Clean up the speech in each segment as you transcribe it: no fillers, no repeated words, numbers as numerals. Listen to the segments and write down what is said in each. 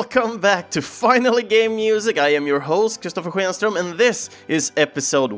Welcome back to Finally Game Music. I am your host, Kristoffer Schenström, and this is episode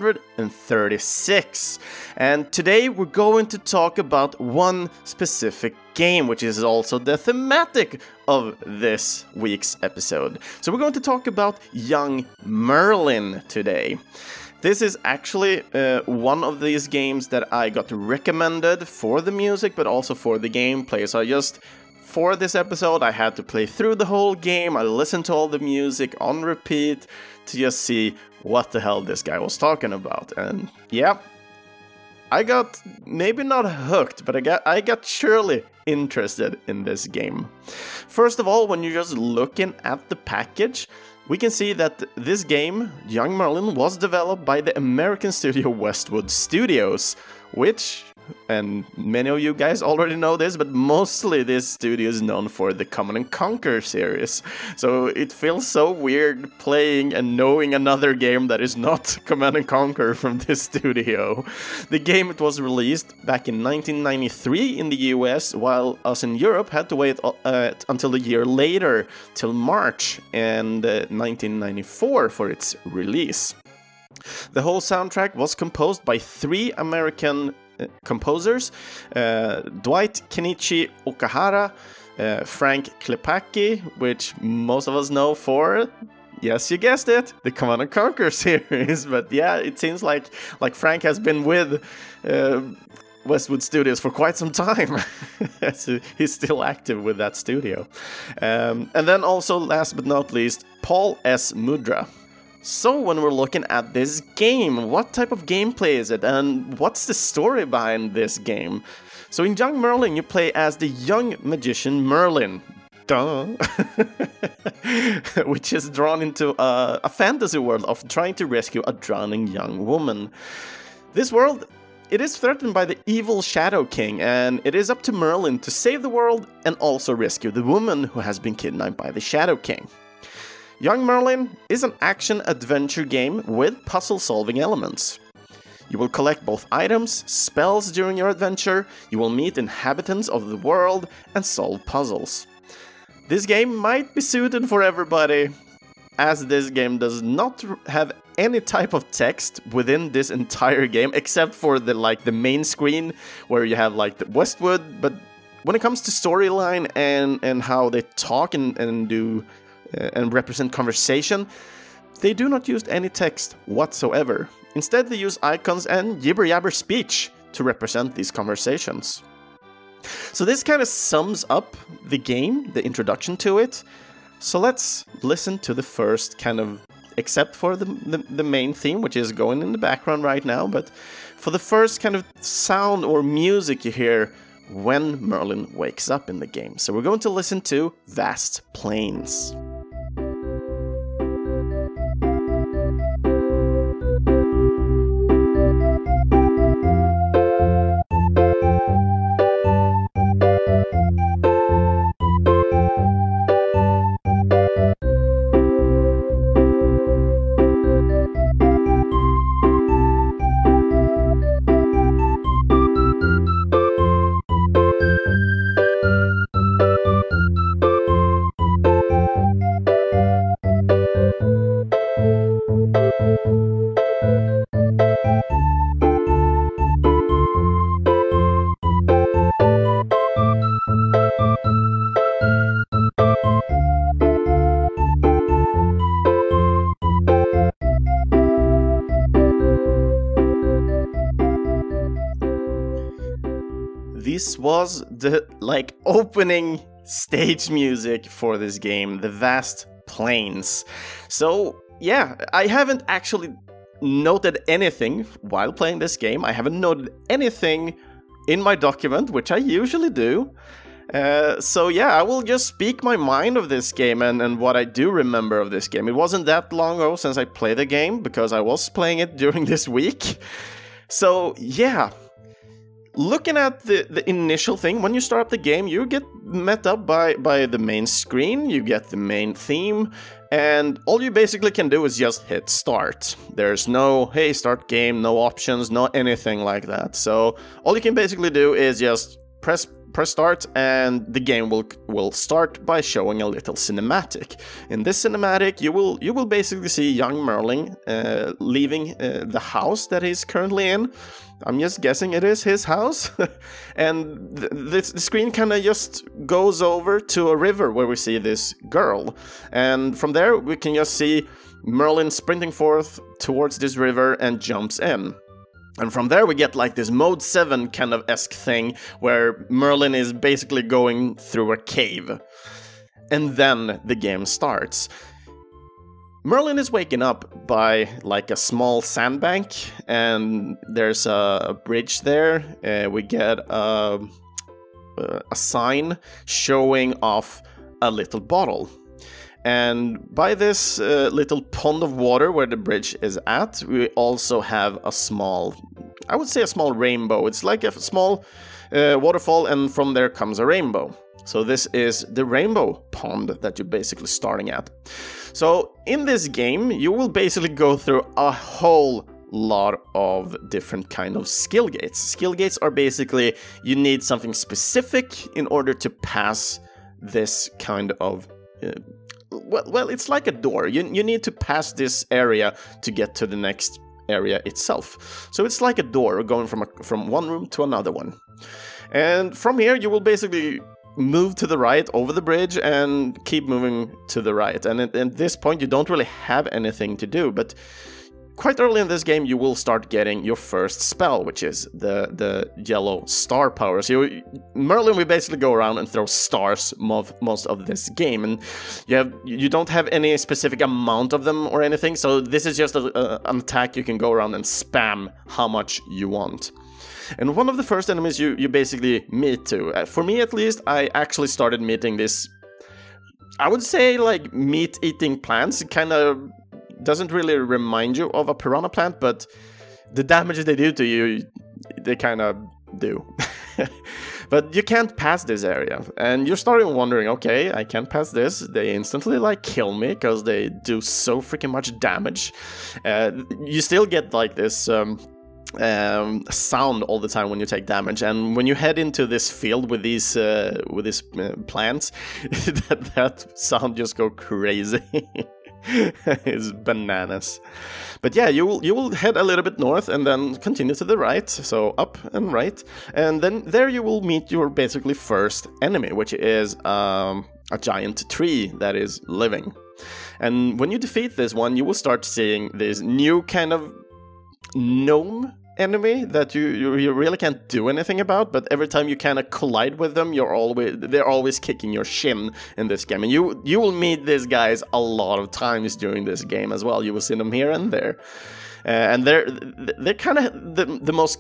136. And today we're going to talk about one specific game, which is also the thematic of this week's episode. So we're going to talk about Young Merlin today. This is actually one of these games that I got recommended for the music, but also for the gameplay. So for this episode, I had to play through the whole game. I listened to all the music on repeat to just see what the hell this guy was talking about. And yeah, I got maybe not hooked, but I got surely interested in this game. First of all, when you're just looking at the package, we can see that this game, Young Merlin, was developed by the American studio Westwood Studios, which, and many of you guys already know this, but mostly this studio is known for the Command & Conquer series. So it feels so weird playing and knowing another game that is not Command & Conquer from this studio. The game, it was released back in 1993 in the US, while us in Europe had to wait until a year later, till March and 1994 for its release. The whole soundtrack was composed by three American composers, Dwight Kenichi Okahara, Frank Klepacki, which most of us know for, yes, you guessed it, the Command & Conquer series. But yeah, it seems like Frank has been with Westwood Studios for quite some time. He's still active with that studio. And then also, last but not least, Paul S. Mudra. So when we're looking at this game, what type of gameplay is it, and what's the story behind this game? So in Young Merlin, you play as the young magician Merlin, which is drawn into a fantasy world of trying to rescue a drowning young woman. This world, it is threatened by the evil Shadow King, and it is up to Merlin to save the world and also rescue the woman who has been kidnapped by the Shadow King. Young Merlin is an action-adventure game with puzzle-solving elements. You will collect both items, spells during your adventure, you will meet inhabitants of the world, and solve puzzles. This game might be suited for everybody, as this game does not have any type of text within this entire game, except for the main screen, where you have the Westwood, but when it comes to storyline and how they talk and do and represent conversation, they do not use any text whatsoever. Instead, they use icons and jibber-jabber speech to represent these conversations. So this kind of sums up the game, the introduction to it. So let's listen to the first kind of, except for the main theme, which is going in the background right now, but for the first kind of sound or music you hear when Merlin wakes up in the game. So we're going to listen to Vast Plains. This was the opening stage music for this game, the Vast Plains. So yeah, I haven't actually noted anything while playing this game. I haven't noted anything in my document, which I usually do. So yeah, I will just speak my mind of this game and what I do remember of this game. It wasn't that long ago since I played the game, because I was playing it during this week. So yeah, looking at the initial thing, when you start up the game, you get met up by the main screen, you get the main theme, and all you basically can do is just hit start. There's no, hey, start game, no options, no anything like that. So all you can basically do is just press press start, and the game will start by showing a little cinematic. In this cinematic, you will basically see young Merlin leaving the house that he's currently in. I'm just guessing it is his house. And the screen kind of just goes over to a river where we see this girl. And from there, we can just see Merlin sprinting forth towards this river and jumps in. And from there we get like this Mode 7 kind of esque thing where Merlin is basically going through a cave. And then the game starts. Merlin is waking up by like a small sandbank, and there's a bridge there. We get a sign showing off a little bottle. And by this little pond of water where the bridge is at, we also have a small, I would say a small rainbow. It's like a small waterfall, and from there comes a rainbow. So this is the rainbow pond that you're basically starting at. So in this game, you will basically go through a whole lot of different kind of skill gates. Skill gates are basically, you need something specific in order to pass this kind of well, it's like a door. You need to pass this area to get to the next area itself. So it's like a door going from one room to another one. And from here, you will basically move to the right over the bridge and keep moving to the right. And at this point, you don't really have anything to do, but quite early in this game, you will start getting your first spell, which is the yellow star power. So Merlin will basically go around and throw stars most of this game, and you don't have any specific amount of them or anything. So this is just an attack you can go around and spam how much you want. And one of the first enemies you basically meet to, for me at least, I actually started meeting this, I would say like meat-eating plants. It kind of doesn't really remind you of a piranha plant, but the damage they do to you, they kind of do. But you can't pass this area, and you're starting wondering, okay, I can't pass this. They instantly like kill me because they do so freaking much damage. You still get like this sound all the time when you take damage, and when you head into this field with these plants, that sound just go crazy. It's bananas. But yeah, you will head a little bit north and then continue to the right, so up and right, and then there you will meet your basically first enemy, which is a giant tree that is living. And when you defeat this one, you will start seeing this new kind of gnome enemy that you really can't do anything about, but every time you kind of collide with them, they're always kicking your shin in this game. And you will meet these guys a lot of times during this game as well. You will see them here and there, and they're kind of the most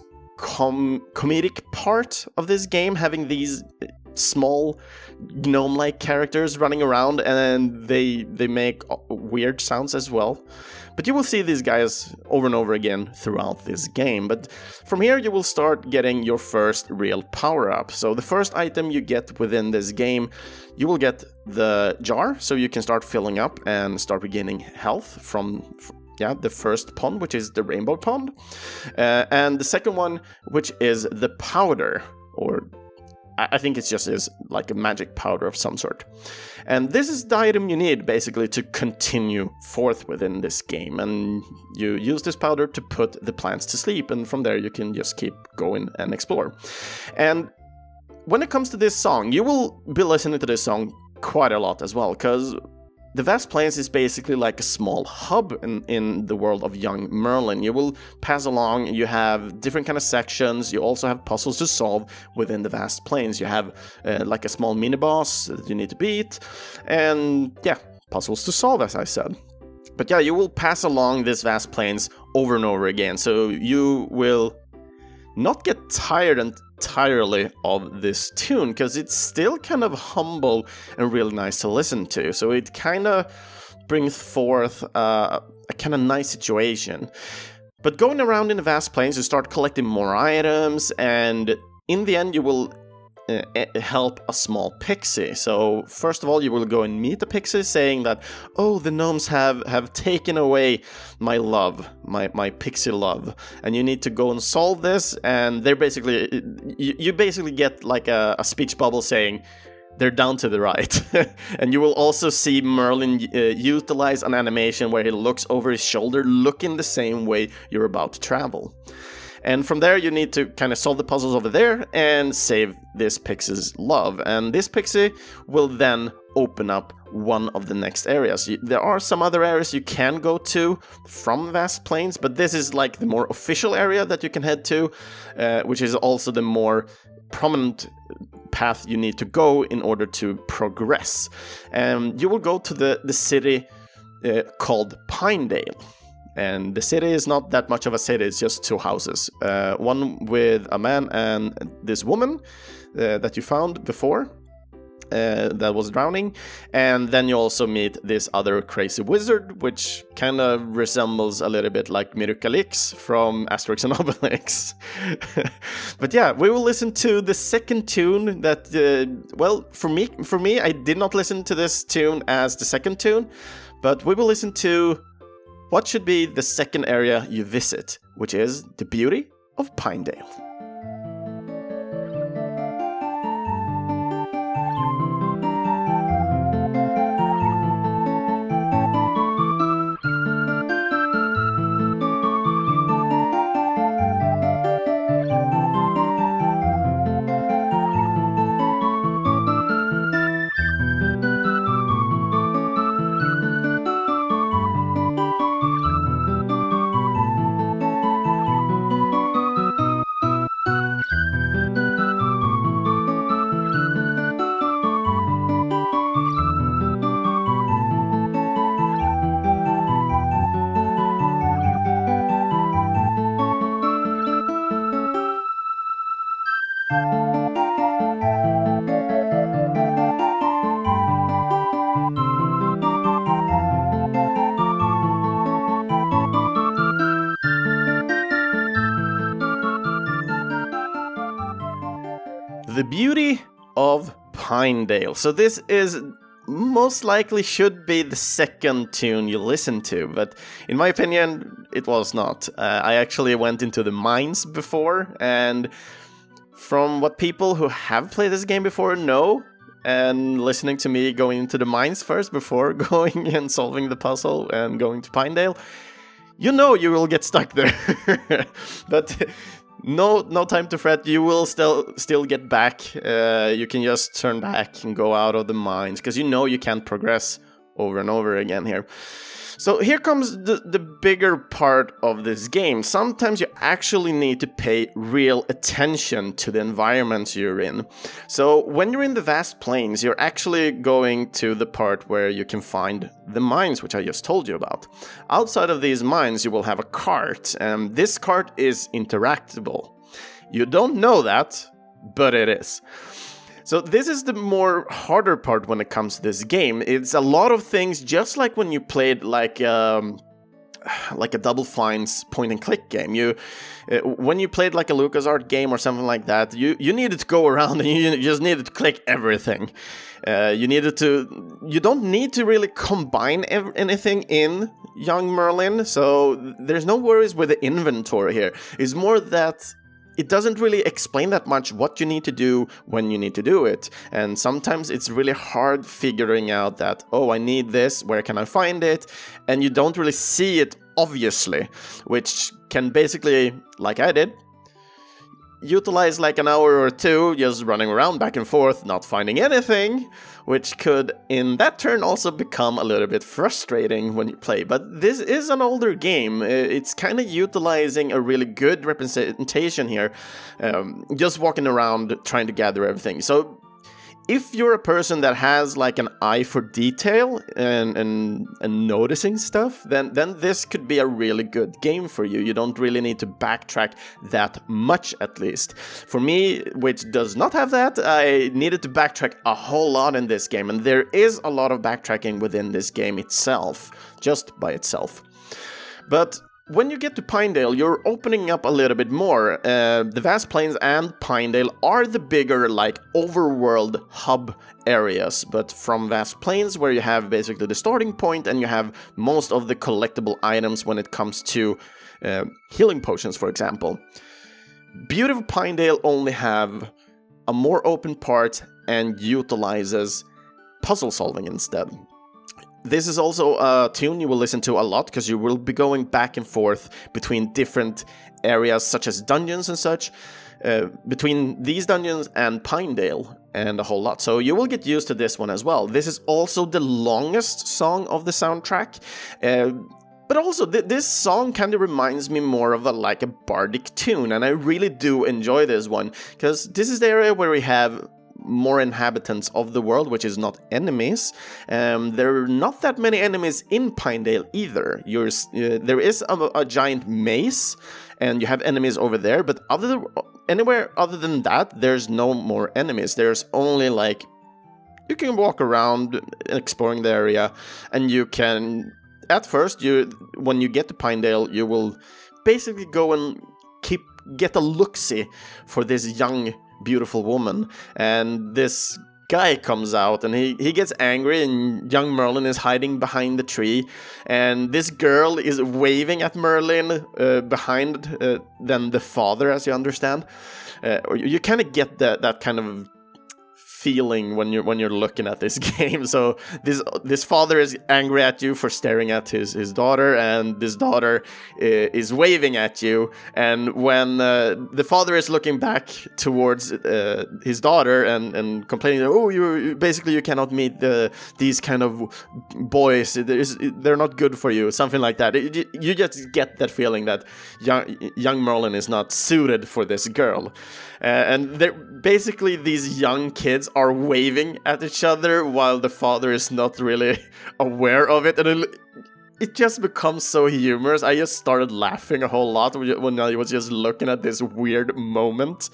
comedic part of this game, having these small gnome-like characters running around, and they make weird sounds as well. But you will see these guys over and over again throughout this game. But from here you will start getting your first real power-up. So the first item you get within this game, you will get the jar, so you can start filling up and start regaining health from the first pond, which is the rainbow pond. And the second one, which is the powder, or I think it just is like a magic powder of some sort. And this is the item you need basically to continue forth within this game. And you use this powder to put the plants to sleep, and from there you can just keep going and explore. And when it comes to this song, you will be listening to this song quite a lot as well, because the Vast Plains is basically like a small hub in the world of young Merlin. You will pass along, you have different kind of sections, you also have puzzles to solve within the Vast Plains. You have like a small mini-boss that you need to beat, and yeah, puzzles to solve, as I said. But yeah, you will pass along this Vast Plains over and over again, so you will not get tired entirely of this tune, because it's still kind of humble and really nice to listen to. So it kind of brings forth a kind of nice situation. But going around in the Vast Plains, you start collecting more items, and in the end you will help a small pixie. So first of all, you will go and meet the pixie saying that, oh, the gnomes have taken away my love, my pixie love, and you need to go and solve this. And they're basically, you basically get like a speech bubble saying, they're down to the right. And you will also see Merlin utilize an animation where he looks over his shoulder, looking the same way you're about to travel. And from there, you need to kind of solve the puzzles over there and save this pixie's love. And this pixie will then open up one of the next areas. There are some other areas you can go to from Vast Plains, but this is like the more official area that you can head to, which is also the more prominent path you need to go in order to progress. You will go to the city called Pinedale. And the city is not that much of a city, it's just two houses. One with a man and this woman that you found before that was drowning. And then you also meet this other crazy wizard, which kind of resembles a little bit like Mirukalix from Asterix and Obelix. But yeah, we will listen to the second tune that, well, for me, I did not listen to this tune as the second tune, but we will listen to what should be the second area you visit, which is the beauty of Pinedale. The beauty of Pinedale. So this is most likely should be the second tune you listen to, but in my opinion, it was not. I actually went into the mines before, and from what people who have played this game before know, and listening to me going into the mines first before going and solving the puzzle and going to Pinedale, you know you will get stuck there. But no time to fret. You will still get back. You can just turn back and go out of the mines, because you know you can't progress over and over again here. So here comes the bigger part of this game. Sometimes you actually need to pay real attention to the environments you're in. So when you're in the Vast Plains, you're actually going to the part where you can find the mines, which I just told you about. Outside of these mines, you will have a cart, and this cart is interactable. You don't know that, but it is. So this is the more harder part when it comes to this game. It's a lot of things, just like when you played like a Double Fine's point and click game. When you played like a LucasArts game or something like that, you needed to go around and you just needed to click everything. You don't need to really combine anything in Young Merlin, so there's no worries with the inventory here. It's more that it doesn't really explain that much what you need to do when you need to do it. And sometimes it's really hard figuring out that, oh, I need this, where can I find it? And you don't really see it obviously, which can basically, like I did, utilize like an hour or two just running around back and forth, not finding anything, which could in that turn also become a little bit frustrating when you play. But this is an older game. It's kind of utilizing a really good representation here, just walking around trying to gather everything. So if you're a person that has like an eye for detail and noticing stuff, then this could be a really good game for you. You don't really need to backtrack that much, at least. For me, which does not have that, I needed to backtrack a whole lot in this game, and there is a lot of backtracking within this game itself, just by itself. But when you get to Pinedale, you're opening up a little bit more. The Vast Plains and Pinedale are the bigger, like, overworld hub areas, but from Vast Plains, where you have basically the starting point and you have most of the collectible items when it comes to healing potions, for example. Beautiful Pinedale only have a more open part and utilizes puzzle solving instead. This is also a tune you will listen to a lot, because you will be going back and forth between different areas, such as dungeons and such, between these dungeons and Pinedale, and a whole lot. So you will get used to this one as well. This is also the longest song of the soundtrack, but also this song kind of reminds me more of a bardic tune, and I really do enjoy this one, because this is the area where we have more inhabitants of the world, which is not enemies. There are not that many enemies in Pinedale either. There is a giant maze, and you have enemies over there, but anywhere other than that, there's no more enemies. There's only you can walk around exploring the area, and you can, at first, when you get to Pinedale, you will basically go and get a look-see for this young beautiful woman, and this guy comes out and he gets angry, and young Merlin is hiding behind the tree, and this girl is waving at Merlin behind then the father, as you understand. You kind of get that kind of feeling when you're looking at this game. So this father is angry at you for staring at his daughter, and this daughter is waving at you, and when the father is looking back towards his daughter and complaining, oh, you cannot meet these kind of boys, they're not good for you, something like that. You just get that feeling that young Merlin is not suited for this girl. And basically these young kids are waving at each other while the father is not really aware of it, and it just becomes so humorous. I just started laughing a whole lot when I was just looking at this weird moment.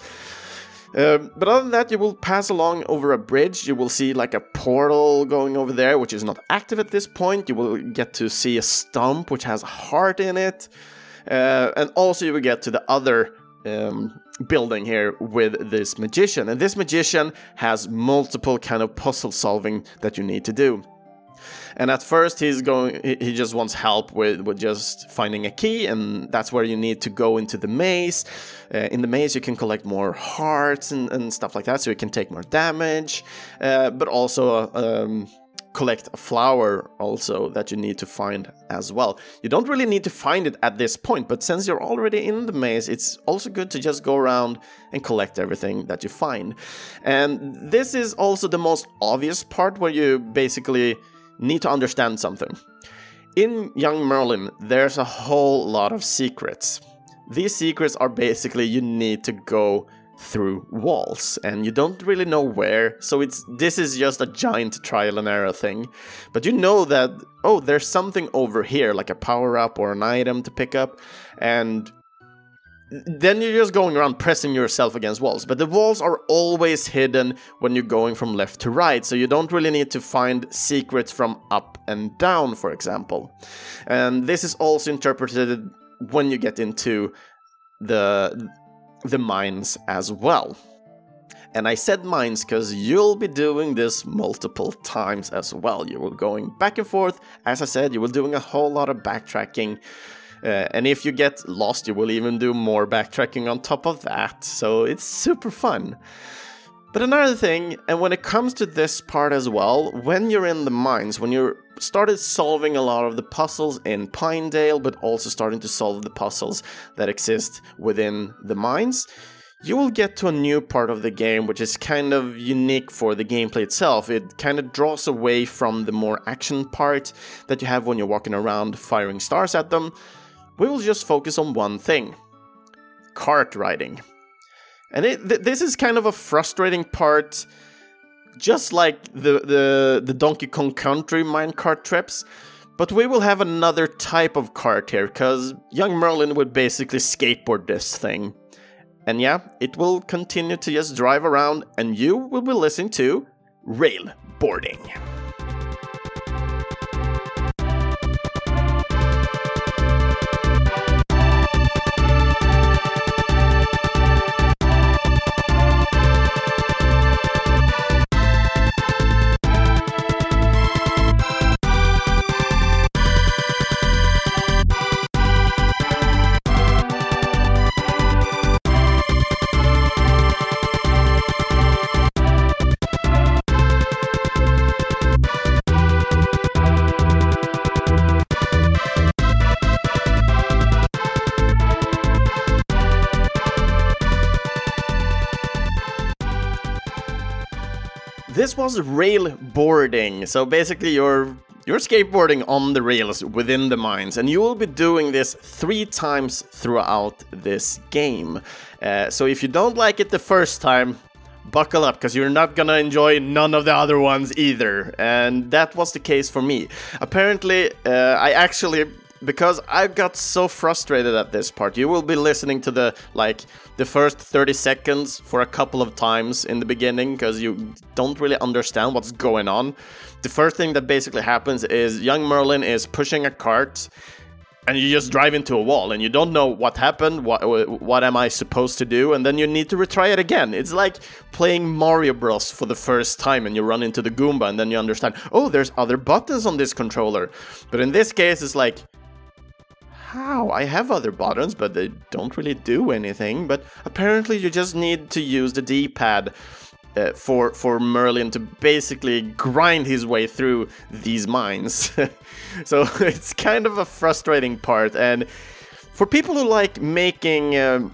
But other than that, you will pass along over a bridge. You will see a portal going over there, which is not active at this point. You will get to see a stump which has a heart in it, and also you will get to the other building here with this magician, and this magician has multiple kind of puzzle solving that you need to do. And at first he just wants help with just finding a key, and that's where you need to go into the maze. In the maze you can collect more hearts and stuff like that, so you can take more damage, but also collect a flower also that you need to find as well. You don't really need to find it at this point, but since you're already in the maze, it's also good to just go around and collect everything that you find. And this is also the most obvious part, where you basically need to understand something. In Young Merlin, there's a whole lot of secrets. These secrets are basically you need to go through walls, and you don't really know where, so this is just a giant trial and error thing. But you know that, oh, there's something over here, like a power-up or an item to pick up, and then you're just going around pressing yourself against walls. But the walls are always hidden when you're going from left to right, so you don't really need to find secrets from up and down, for example. And this is also interpreted when you get into the mines as well. And I said mines because you'll be doing this multiple times as well. You will going back and forth. As I said, you will doing a whole lot of backtracking. And if you get lost, you will even do more backtracking on top of that. So it's super fun. But another thing, and when it comes to this part as well, when you're in the mines, when you started solving a lot of the puzzles in Pinedale, but also starting to solve the puzzles that exist within the mines, you will get to a new part of the game, which is kind of unique for the gameplay itself. It kind of draws away from the more action part that you have when you're walking around firing stars at them. We will just focus on one thing: kart riding. And this is kind of a frustrating part, just like the Donkey Kong Country minecart trips. But we will have another type of kart here, because young Merlin would basically skateboard this thing. And yeah, it will continue to just drive around, and you will be listening to Railboarding. this was railboarding. So basically you're skateboarding on the rails within the mines, and you will be doing this 3 times throughout this game. So if you don't like it the first time, buckle up, because you're not gonna enjoy none of the other ones either. And that was the case for me. Apparently, because I got so frustrated at this part, you will be listening to the first 30 seconds for a couple of times in the beginning, because you don't really understand what's going on. The first thing that basically happens is young Merlin is pushing a cart, and you just drive into a wall, and you don't know what happened, what am I supposed to do, and then you need to retry it again. It's like playing Mario Bros. For the first time, and you run into the Goomba, and then you understand, oh, there's other buttons on this controller. But in this case, it's like, how? I have other buttons, but they don't really do anything. But apparently you just need to use the D-pad for Merlin to basically grind his way through these mines. So it's kind of a frustrating part. And for people who like making,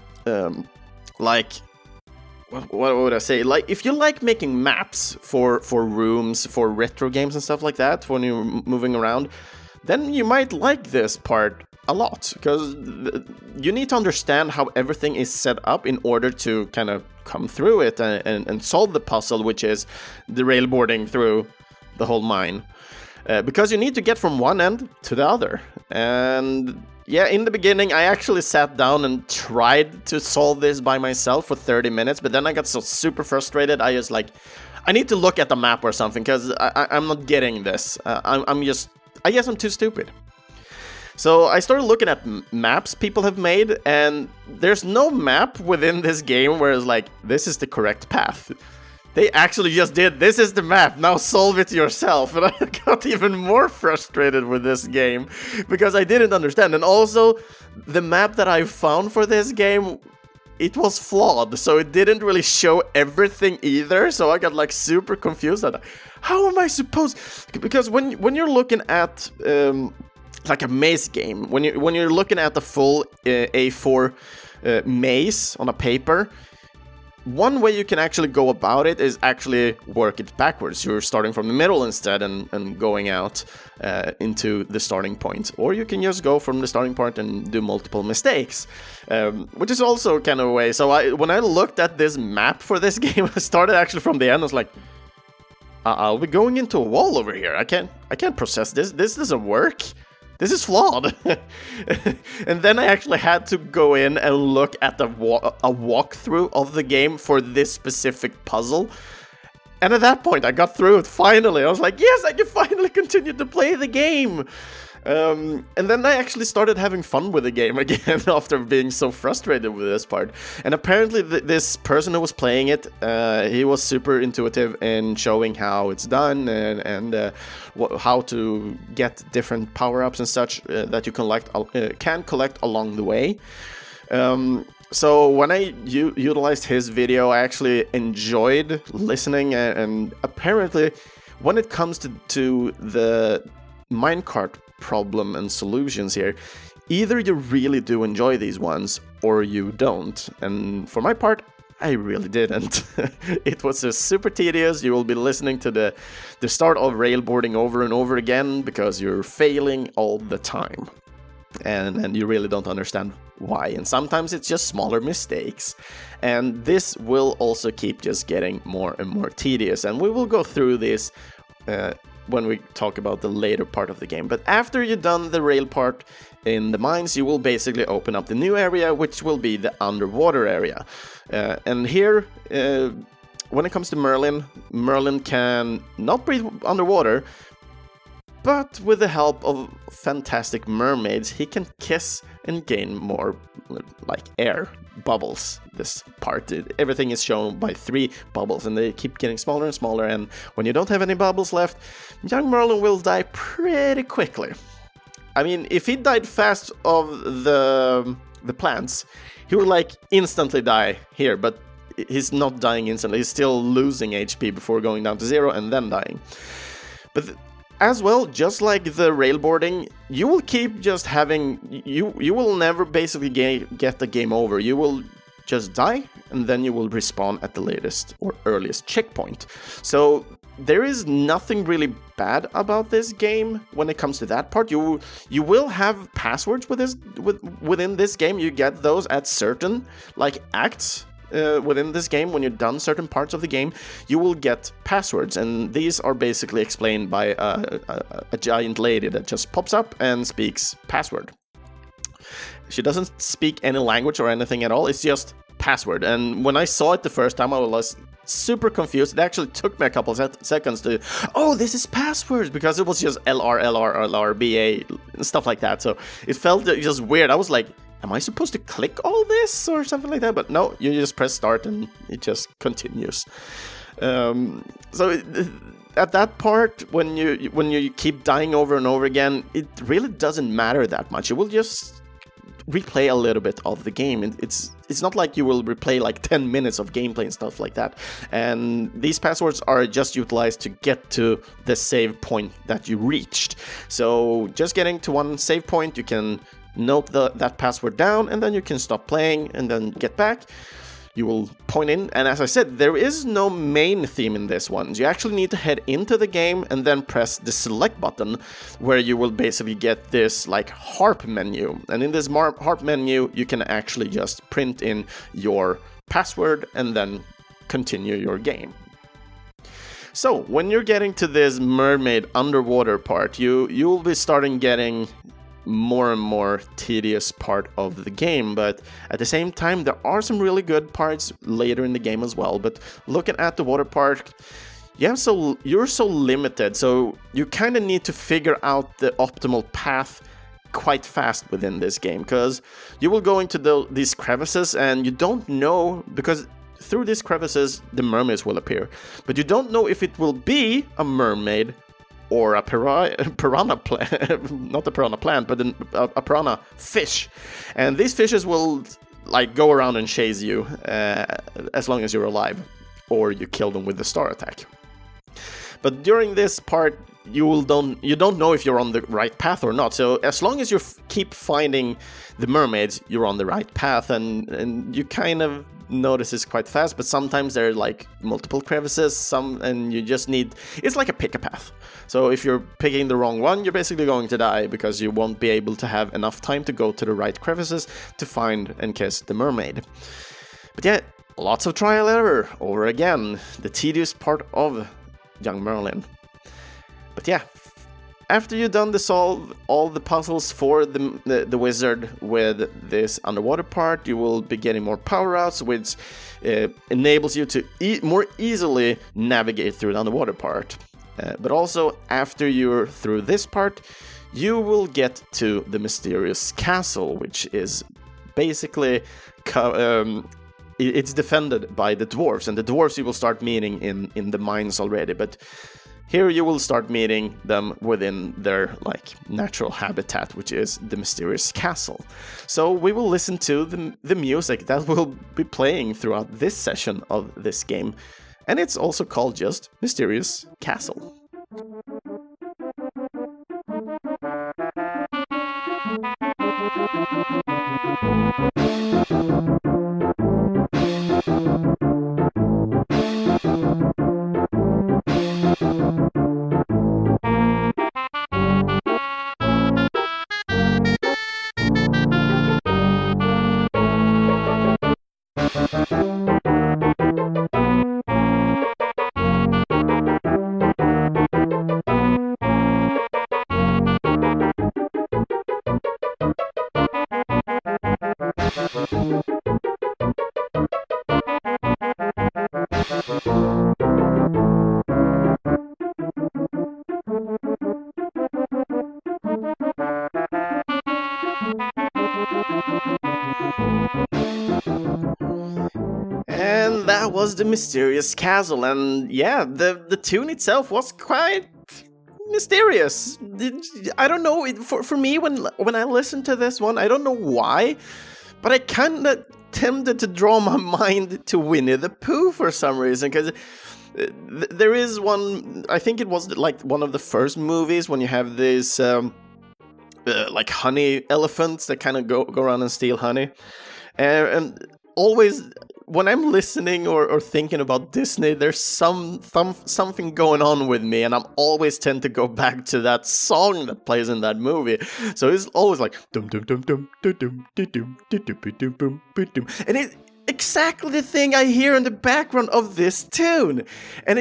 what would I say? Like, if you like making maps for rooms, for retro games and stuff like that, when you're moving around, then you might like this part a lot, because you need to understand how everything is set up in order to kind of come through it and solve the puzzle, which is the railboarding through the whole mine. Because you need to get from one end to the other. And yeah, in the beginning, I actually sat down and tried to solve this by myself for 30 minutes, but then I got so super frustrated, I just I need to look at the map or something, because I'm not getting this. I guess I'm too stupid. So I started looking at maps people have made, and there's no map within this game where it's like, this is the correct path. They actually just did, this is the map, now solve it yourself. And I got even more frustrated with this game, because I didn't understand. And also, the map that I found for this game, it was flawed, so it didn't really show everything either. So I got super confused. How am I supposed... Because when you're looking at... like a maze game, when you're looking at the full A4 maze on a paper, one way you can actually go about it is actually work it backwards. You're starting from the middle instead and going out into the starting point. Or you can just go from the starting point and do multiple mistakes, which is also kind of a way. So when I looked at this map for this game, I started actually from the end. I was like, I'll be going into a wall over here. I can't process this. This doesn't work. This is flawed. And then I actually had to go in and look at a walkthrough of the game for this specific puzzle. And at that point, I got through it finally. I was like, yes, I can finally continue to play the game. And then I actually started having fun with the game again after being so frustrated with this part. And apparently this person who was playing it, he was super intuitive in showing how it's done and how to get different power-ups and such that you can collect along the way. So when I utilized his video, I actually enjoyed listening, and apparently when it comes to the minecart problem and solutions here, either you really do enjoy these ones or you don't. And for my part, I really didn't. It was just super tedious. You will be listening to the start of railboarding over and over again because you're failing all the time. And you really don't understand why. And sometimes it's just smaller mistakes. And this will also keep just getting more and more tedious. And we will go through this when we talk about the later part of the game. But after you've done the rail part in the mines, you will basically open up the new area, which will be the underwater area. And here, when it comes to Merlin can not breathe underwater, but with the help of fantastic mermaids, he can kiss and gain more, like, air bubbles. This part, everything is shown by 3 bubbles, and they keep getting smaller and smaller, and when you don't have any bubbles left, young Merlin will die pretty quickly. I mean, if he died fast of the plants, he would, like, instantly die here, but he's not dying instantly. He's still losing HP before going down to 0 and then dying. But as well, just like the railboarding, you will keep just having... You will never basically get the game over. You will just die, and then you will respawn at the latest or earliest checkpoint. So there is nothing really bad about this game when it comes to that part. You will have passwords within this game. You get those at certain acts within this game. When you're done certain parts of the game, you will get passwords, and these are basically explained by a giant lady that just pops up and speaks password. She doesn't speak any language or anything at all. It's just password. And when I saw it the first time, I was super confused. It actually took me a couple of seconds to, oh, this is passwords, because it was just LR, LR, LR, BA, stuff like that. So it felt just weird. I was like, am I supposed to click all this or something like that? But no, you just press start and it just continues. At that part, when you keep dying over and over again, it really doesn't matter that much. You will just replay a little bit of the game. It's not like you will replay 10 minutes of gameplay and stuff like that. And these passwords are just utilized to get to the save point that you reached. So just getting to one save point, you can note that password down, and then you can stop playing and then get back. You will point in, and as I said, there is no main theme in this one. You actually need to head into the game and then press the select button, where you will basically get this harp menu. And in this harp menu, you can actually just print in your password and then continue your game. So when you're getting to this mermaid underwater part, you'll be starting getting more and more tedious part of the game, but at the same time there are some really good parts later in the game as well. But looking at the water park, you're so limited, so you kind of need to figure out the optimal path quite fast within this game, because you will go into these crevices and you don't know, because through these crevices the mermaids will appear, but you don't know if it will be a mermaid or a piranha plant, not a piranha plant, but a piranha fish. And these fishes will go around and chase you as long as you're alive, or you kill them with the star attack. But during this part, you don't know if you're on the right path or not. So as long as you keep finding the mermaids, you're on the right path, and you kind of notice this quite fast. But sometimes there are multiple crevices, and you just need, it's like a pick a path. So if you're picking the wrong one, you're basically going to die, because you won't be able to have enough time to go to the right crevices to find and kiss the mermaid. But yeah, lots of trial error over again, the tedious part of Young Merlin. But yeah, after you've done to solve all the puzzles for the wizard with this underwater part, you will be getting more power-ups, which enables you to more easily navigate through the underwater part. But also, after you're through this part, you will get to the mysterious castle, which is basically it's defended by the dwarves, and the dwarves you will start meeting in the mines already, but here you will start meeting them within their natural habitat, which is the mysterious castle. So we will listen to the music that will be playing throughout this session of this game, and it's also called just Mysterious Castle. And that was the Mysterious Castle, and yeah, the tune itself was quite mysterious. I don't know, for me, when I listened to this one, I don't know why, but I kind of tempted to draw my mind to Winnie the Pooh for some reason, because there is one, I think it was one of the first movies when you have these honey elephants that kind of go around and steal honey, and always when I'm listening or thinking about Disney, there's something going on with me, and I'm always tend to go back to that song that plays in that movie. So it's always like dum dum dum dum dum dum dum dum dum dum dum dum, and it's exactly the thing I hear in the background of this tune, and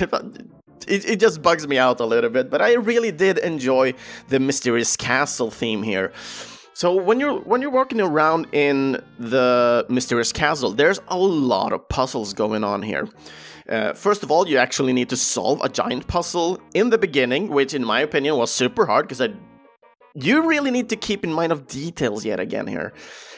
it just bugs me out a little bit. But I really did enjoy the Mysterious Castle theme here. So when you're walking around in the Mysterious Castle, there's a lot of puzzles going on here. First of all, you actually need to solve a giant puzzle in the beginning, which in my opinion was super hard, because you really need to keep in mind of details yet again here.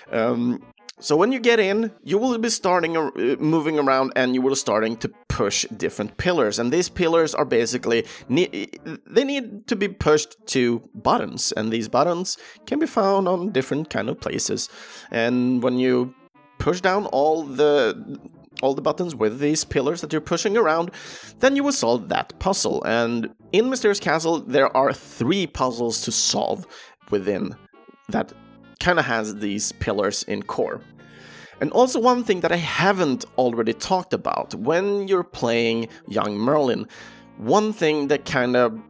So when you get in, you will be moving around, and you will starting to push different pillars. And these pillars are basically, they need to be pushed to buttons. And these buttons can be found on different kind of places. And when you push down all the buttons with these pillars that you're pushing around, then you will solve that puzzle. And in Mysterious Castle, there are 3 puzzles to solve within that kind of has these pillars in core. And also one thing that I haven't already talked about, when you're playing young Merlin, one thing that kind of,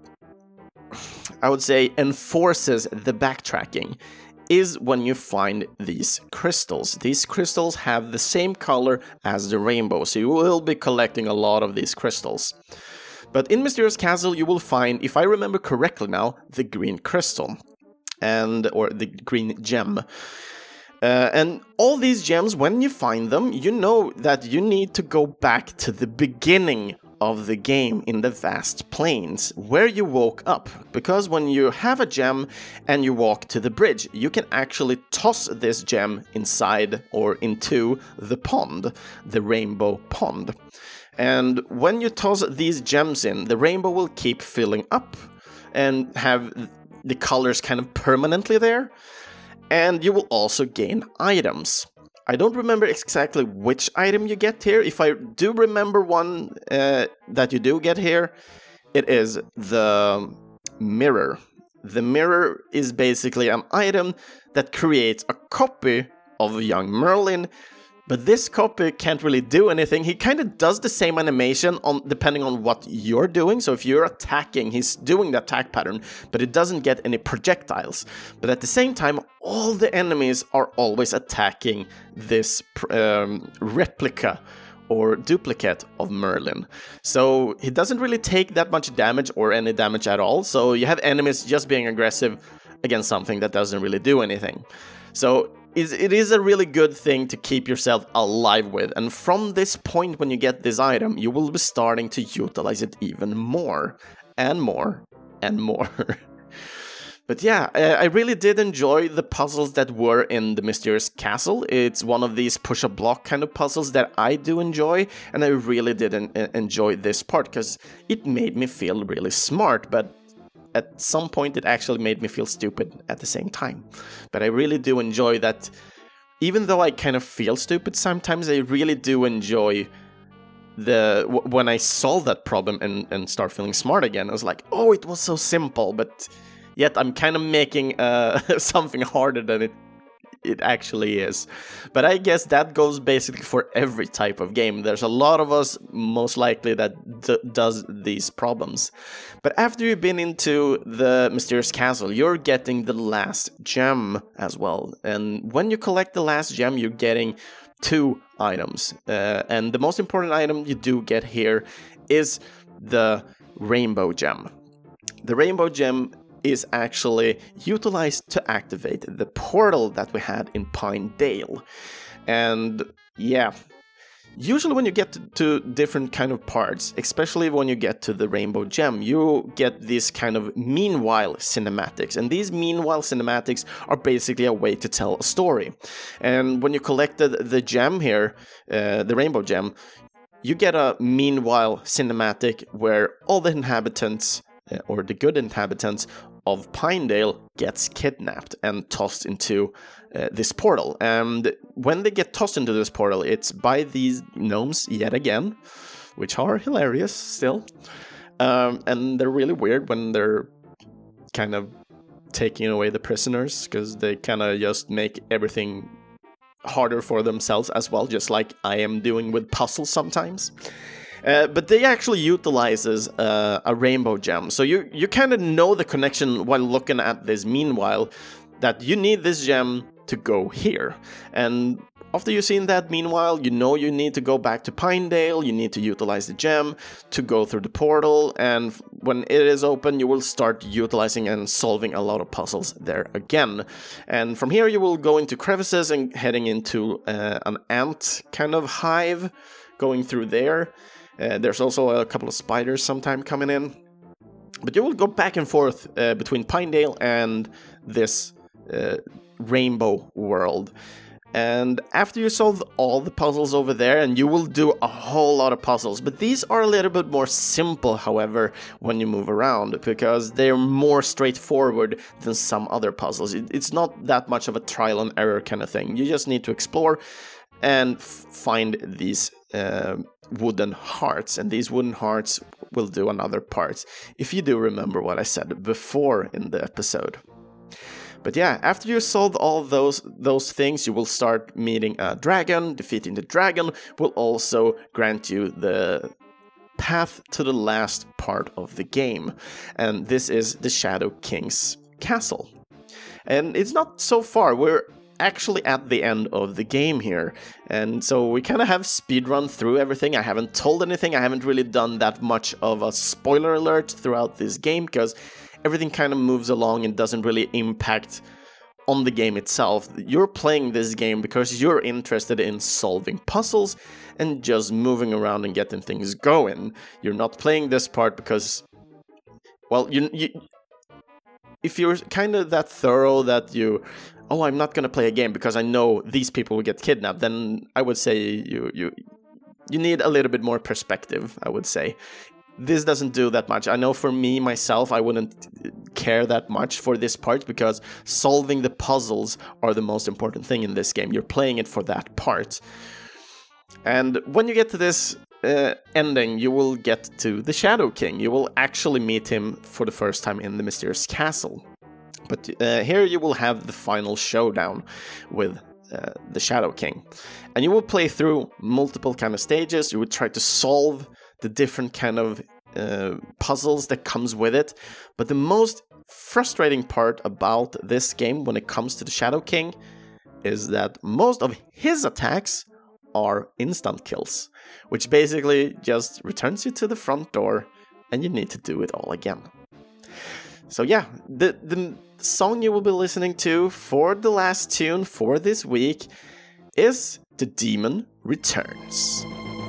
I would say, enforces the backtracking is when you find these crystals. These crystals have the same color as the rainbow, so you will be collecting a lot of these crystals. But in Mysterious Castle you will find, if I remember correctly now, the green crystal. Or the green gem. And all these gems, when you find them, you know that you need to go back to the beginning of the game in the vast plains, where you woke up. Because when you have a gem and you walk to the bridge, you can actually toss this gem inside or into the pond, the rainbow pond. And when you toss these gems in, the rainbow will keep filling up and have the colors kind of permanently there, and you will also gain items. I don't remember exactly which item you get here. If I do remember one that you do get here, it is the mirror. The mirror is basically an item that creates a copy of young Merlin, but this copy can't really do anything. He kind of does the same animation depending on what you're doing. So if you're attacking, he's doing the attack pattern, but it doesn't get any projectiles. But at the same time, all the enemies are always attacking this replica or duplicate of Merlin. So he doesn't really take that much damage or any damage at all. So you have enemies just being aggressive against something that doesn't really do anything. So it is a really good thing to keep yourself alive with, and from this point when you get this item, you will be starting to utilize it even more, and more, and more. But yeah, I really did enjoy the puzzles that were in the Mysterious Castle. It's one of these push-a-block kind of puzzles that I do enjoy, and I really did enjoy this part, because it made me feel really smart, but at some point it actually made me feel stupid at the same time. But I really do enjoy that. Even though I kind of feel stupid sometimes, I really do enjoy when I solve that problem and start feeling smart again. I was like, oh, it was so simple, but yet I'm kind of making something harder than it actually is. But I guess that goes basically for every type of game. There's a lot of us, most likely, that does these problems. But after you've been into the Mysterious Castle, you're getting the last gem as well. And when you collect the last gem, you're getting 2 items. And the most important item you do get here is the Rainbow Gem. The Rainbow Gem is actually utilized to activate the portal that we had in Pine Dale. And yeah, usually when you get to different kind of parts, especially when you get to the Rainbow Gem, you get these kind of meanwhile cinematics. And these meanwhile cinematics are basically a way to tell a story. And when you collected the gem here, the Rainbow Gem, you get a meanwhile cinematic where all the inhabitants, or the good inhabitants of Pinedale, gets kidnapped and tossed into this portal. And when they get tossed into this portal, it's by these gnomes yet again, which are hilarious still. And they're really weird when they're kind of taking away the prisoners, because they kind of just make everything harder for themselves as well, just like I am doing with puzzles sometimes. But they actually utilizes a rainbow gem, so you kind of know the connection while looking at this. Meanwhile, that you need this gem to go here, and after you've seen that, meanwhile, you know you need to go back to Pinedale, you need to utilize the gem to go through the portal, and when it is open, you will start utilizing and solving a lot of puzzles there again. And from here, you will go into crevices and heading into an ant kind of hive, going through there. There's also a couple of spiders sometime coming in. But you will go back and forth between Pinedale and this rainbow world. And after you solve all the puzzles over there, and you will do a whole lot of puzzles, but these are a little bit more simple, however, when you move around, because they're more straightforward than some other puzzles. It's not that much of a trial and error kind of thing. You just need to explore and find these wooden hearts, and these wooden hearts will do another part, if you do remember what I said before in the episode. But yeah, after you solve all those things, you will start meeting a dragon. Defeating the dragon will also grant you the path to the last part of the game. And this is the Shadow King's castle. And it's not so far. We're actually at the end of the game here. And so we kind of have speedrun through everything. I haven't told anything. I haven't really done that much of a spoiler alert throughout this game, because everything kind of moves along and doesn't really impact on the game itself. You're playing this game because you're interested in solving puzzles and just moving around and getting things going. You're not playing this part because, well, you if you're kind of that thorough that I'm not going to play a game because I know these people will get kidnapped, then I would say you need a little bit more perspective, I would say. This doesn't do that much. I know for me, myself, I wouldn't care that much for this part because solving the puzzles are the most important thing in this game. You're playing it for that part. And when you get to this ending, you will get to the Shadow King. You will actually meet him for the first time in the Mysterious Castle. But here you will have the final showdown with the Shadow King. And you will play through multiple kind of stages. You will try to solve the different kind of puzzles that comes with it. But the most frustrating part about this game when it comes to the Shadow King is that most of his attacks are instant kills, which basically just returns you to the front door and you need to do it all again. So yeah, the song you will be listening to for the last tune for this week is The Demon Returns.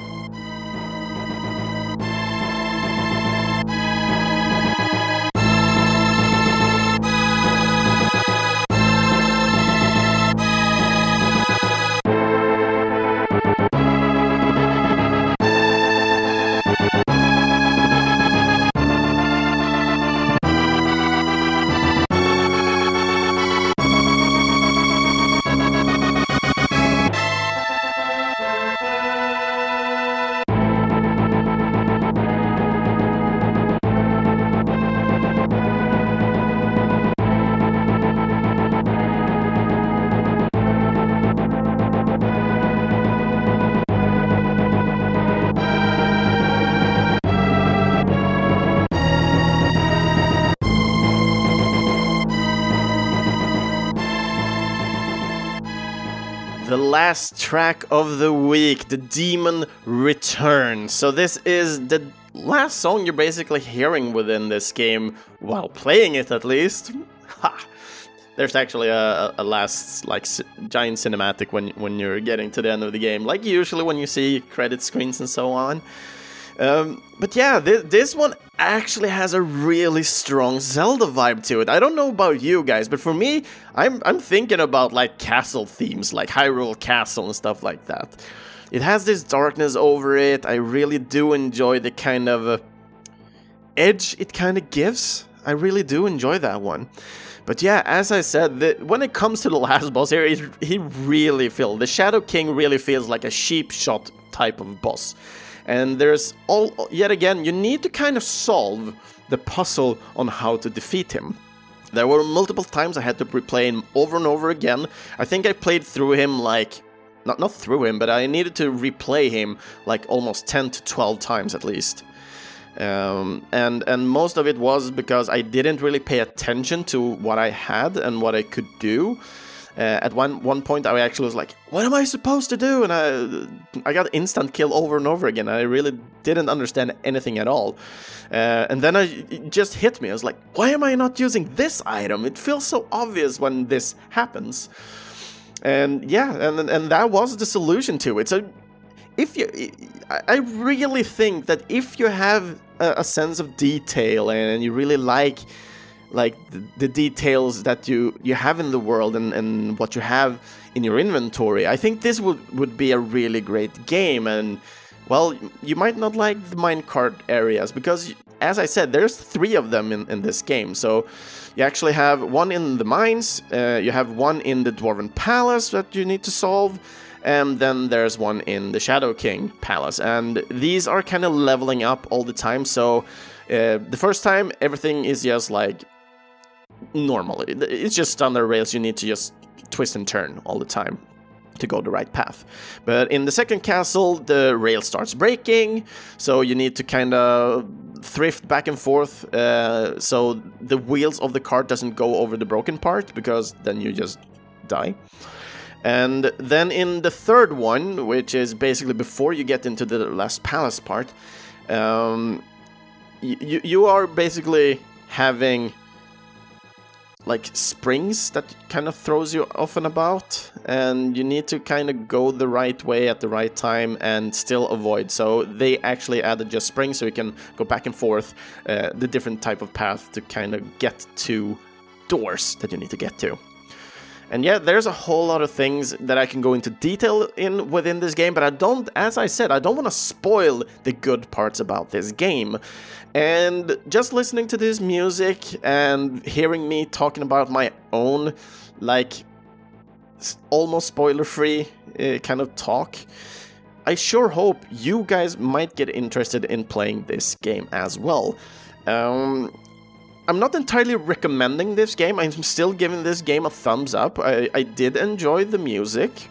The last track of the week, The Demon Returns. So this is the last song you're basically hearing within this game, while playing it at least. Ha! There's actually a last giant cinematic when you're getting to the end of the game, like usually when you see credit screens and so on. But yeah, this one actually has a really strong Zelda vibe to it. I don't know about you guys, but for me, I'm thinking about like castle themes, like Hyrule Castle and stuff like that. It has this darkness over it. I really do enjoy the kind of edge it kind of gives. I really do enjoy that one. But yeah, as I said, when it comes to the last boss here, he really feels, the Shadow King really feels like a cheap shot type of boss. And there's yet again, you need to kind of solve the puzzle on how to defeat him. There were multiple times I had to replay him over and over again. I think I played through him like, not through him, but I needed to replay him like almost 10 to 12 times at least. And most of it was because I didn't really pay attention to what I had and what I could do. At one point I actually was like, what am I supposed to do? And I got instant kill over and over again. I really didn't understand anything at all. And then it just hit me. I was like, why am I not using this item? It feels so obvious when this happens. And yeah, and that was the solution to it. So I really think that if you have a sense of detail and you really like the details that you have in the world and what you have in your inventory, I think this would be a really great game. And well, you might not like the minecart areas because, as I said, there's 3 of them in this game. So you actually have one in the mines, you have one in the Dwarven Palace that you need to solve, and then there's one in the Shadow King Palace. And these are kind of leveling up all the time. So the first time, everything is just like normal. It's just on the rails. You need to just twist and turn all the time to go the right path. But in the second castle, the rail starts breaking, so you need to kind of thrift back and forth so the wheels of the cart doesn't go over the broken part, because then you just die. And then in the third one, which is basically before you get into the last palace part, you are basically having like springs that kind of throws you off and about, and you need to kind of go the right way at the right time and still avoid. So they actually added just springs so you can go back and forth the different type of path to kind of get to doors that you need to get to. And yeah, there's a whole lot of things that I can go into detail within this game, but I don't, as I said, I don't want to spoil the good parts about this game. And just listening to this music and hearing me talking about my own, like, almost spoiler-free kind of talk, I sure hope you guys might get interested in playing this game as well. I'm not entirely recommending this game. I'm still giving this game a thumbs up. I did enjoy the music.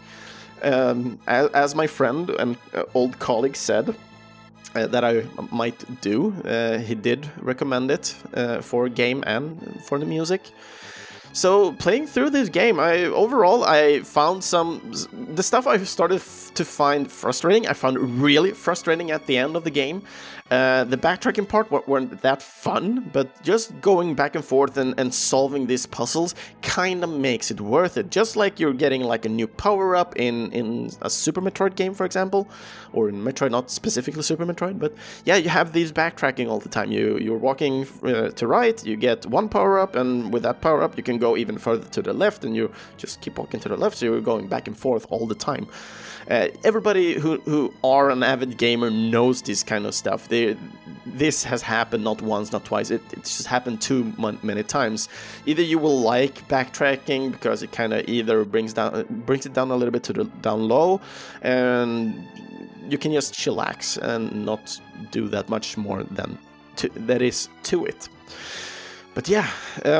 As my friend and old colleague said that I might do, he did recommend it for game and for the music. So playing through this game, overall I found the stuff I started to find frustrating. I found really frustrating at the end of the game. The backtracking part weren't that fun, but just going back and forth and solving these puzzles kind of makes it worth it. Just like you're getting like a new power-up in a Super Metroid game, for example, or in Metroid, not specifically Super Metroid, but yeah, you have these backtracking all the time. You're walking to right, you get one power-up, and with that power-up you can go even further to the left, and you just keep walking to the left, so you're going back and forth all the time. Everybody who are an avid gamer knows this kind of stuff. This has happened not once, not twice. It's just happened too many times. Either you will like backtracking because it kind of either brings it down a little bit to the down low, and you can just chillax and not do that much more than that is to it. But yeah.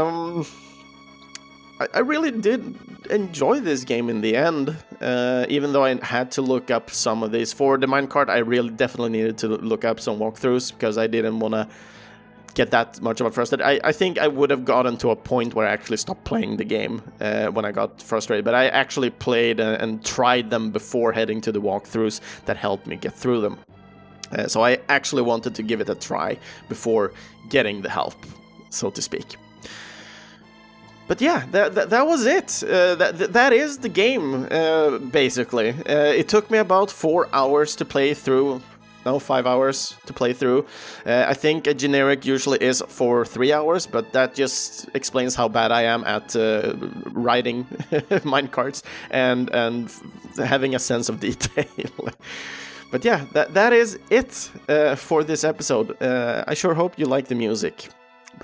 I really did enjoy this game in the end, even though I had to look up some of these. For the minecart, I really definitely needed to look up some walkthroughs, because I didn't want to get that much of a frustrated. I think I would have gotten to a point where I actually stopped playing the game when I got frustrated, but I actually played and tried them before heading to the walkthroughs that helped me get through them. So I actually wanted to give it a try before getting the help, so to speak. But yeah, that was it. That is the game, basically. It took me about 4 hours to play through. No, 5 hours to play through. I think a generic usually is for 3 hours, but that just explains how bad I am at riding minecarts and having a sense of detail. But yeah, that is it for this episode. I sure hope you like the music. But yeah,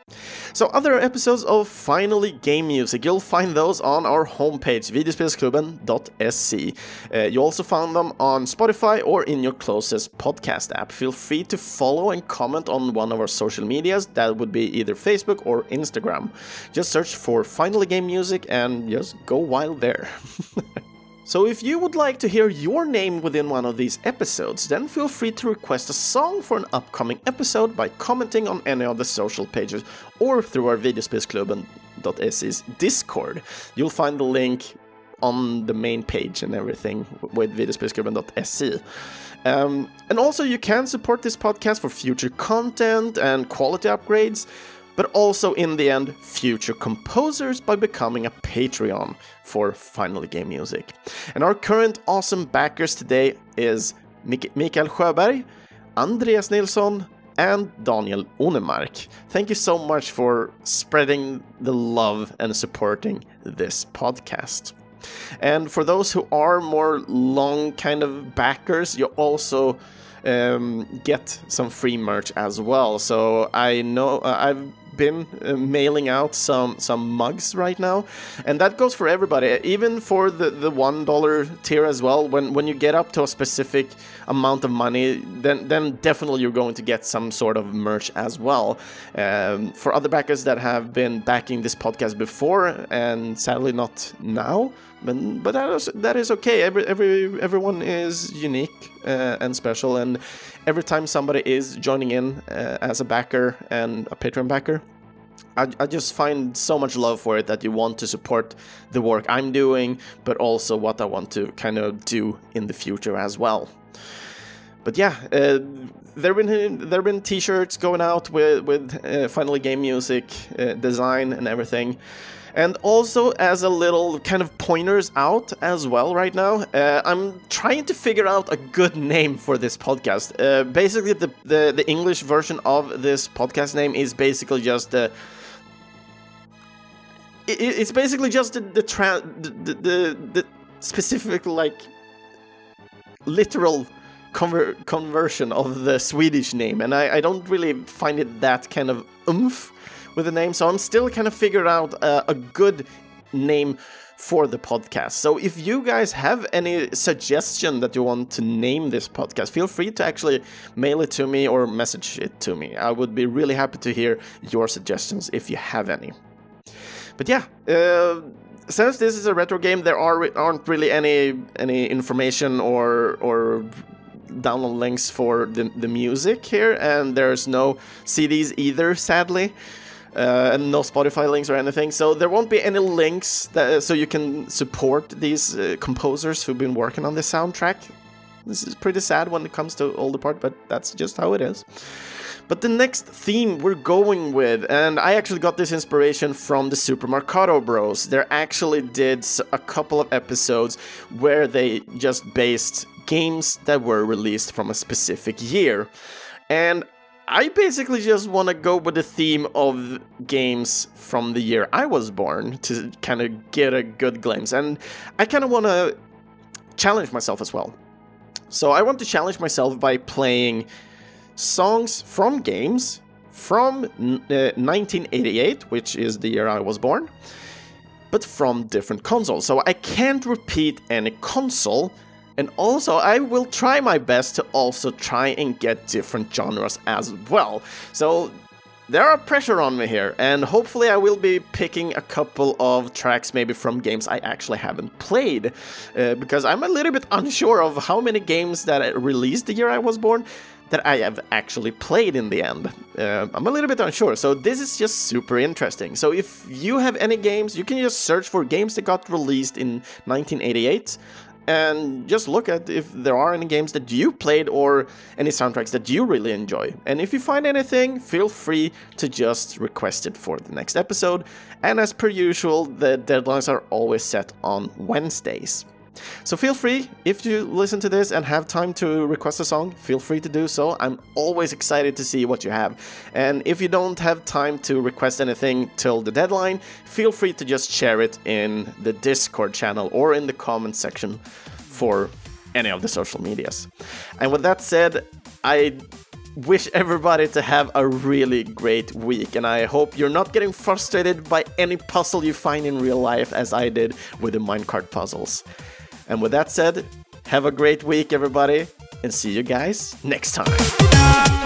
So other episodes of Finally Game Music, you'll find those on our homepage, videospelsklubben.se. You also found them on Spotify or in your closest podcast app. Feel free to follow and comment on one of our social medias. That would be either Facebook or Instagram. Just search for Finally Game Music and just go wild there. So if you would like to hear your name within one of these episodes, then feel free to request a song for an upcoming episode by commenting on any of the social pages or through our videospelsklubben.se's Discord. You'll find the link on the main page and everything with videospelsklubben.se. And also you can support this podcast for future content and quality upgrades, but also in the end, future composers by becoming a Patreon for Finally Game Music. And our current awesome backers today is Mikael Sjöberg, Andreas Nilsson, and Daniel Onemark. Thank you so much for spreading the love and supporting this podcast. And for those who are more long kind of backers, you also get some free merch as well. So I know I've been mailing out some mugs right now, and that goes for everybody, even for the $1 tier as well. When you get up to a specific amount of money, then definitely you're going to get some sort of merch as well. For other backers that have been backing this podcast before and sadly not now, but that is okay. Everyone is unique and special, and every time somebody is joining in as a backer and a Patreon backer, I just find so much love for it that you want to support the work I'm doing, but also what I want to kind of do in the future as well. But yeah, there have been t-shirts going out with Finally Game Music design and everything. And also, as a little kind of pointers out as well right now, I'm trying to figure out a good name for this podcast. Basically, the English version of this podcast name is basically just it's basically just the specific, like, literal conversion of the Swedish name, and I don't really find it that kind of oomph with the name, so I'm still kind of figuring out a good name for the podcast. So if you guys have any suggestion that you want to name this podcast, feel free to actually mail it to me or message it to me. I would be really happy to hear your suggestions if you have any. But yeah, since this is a retro game, there aren't really any information or download links for the music here, and there's no CDs either, sadly. And no Spotify links or anything, so there won't be any links so you can support these composers who've been working on this soundtrack. This is pretty sad when it comes to all the part, but that's just how it is. But the next theme we're going with, and I actually got this inspiration from the Super Marcato Bros. They actually did a couple of episodes where they just based games that were released from a specific year. And I basically just want to go with the theme of games from the year I was born to kind of get a good glimpse. And I kind of want to challenge myself as well. So I want to challenge myself by playing songs from games from 1988, which is the year I was born, but from different consoles. So I can't repeat any console. And also, I will try my best to also try and get different genres as well. So there are pressure on me here, and hopefully I will be picking a couple of tracks maybe from games I actually haven't played, because I'm a little bit unsure of how many games that I released the year I was born that I have actually played in the end. I'm a little bit unsure, so this is just super interesting. So if you have any games, you can just search for games that got released in 1988, and just look at if there are any games that you played or any soundtracks that you really enjoy. And if you find anything, feel free to just request it for the next episode. And as per usual, the deadlines are always set on Wednesdays. So feel free, if you listen to this and have time to request a song, feel free to do so. I'm always excited to see what you have. And if you don't have time to request anything till the deadline, feel free to just share it in the Discord channel or in the comment section for any of the social medias. And with that said, I wish everybody to have a really great week, and I hope you're not getting frustrated by any puzzle you find in real life as I did with the minecart puzzles. And with that said, have a great week, everybody, and see you guys next time.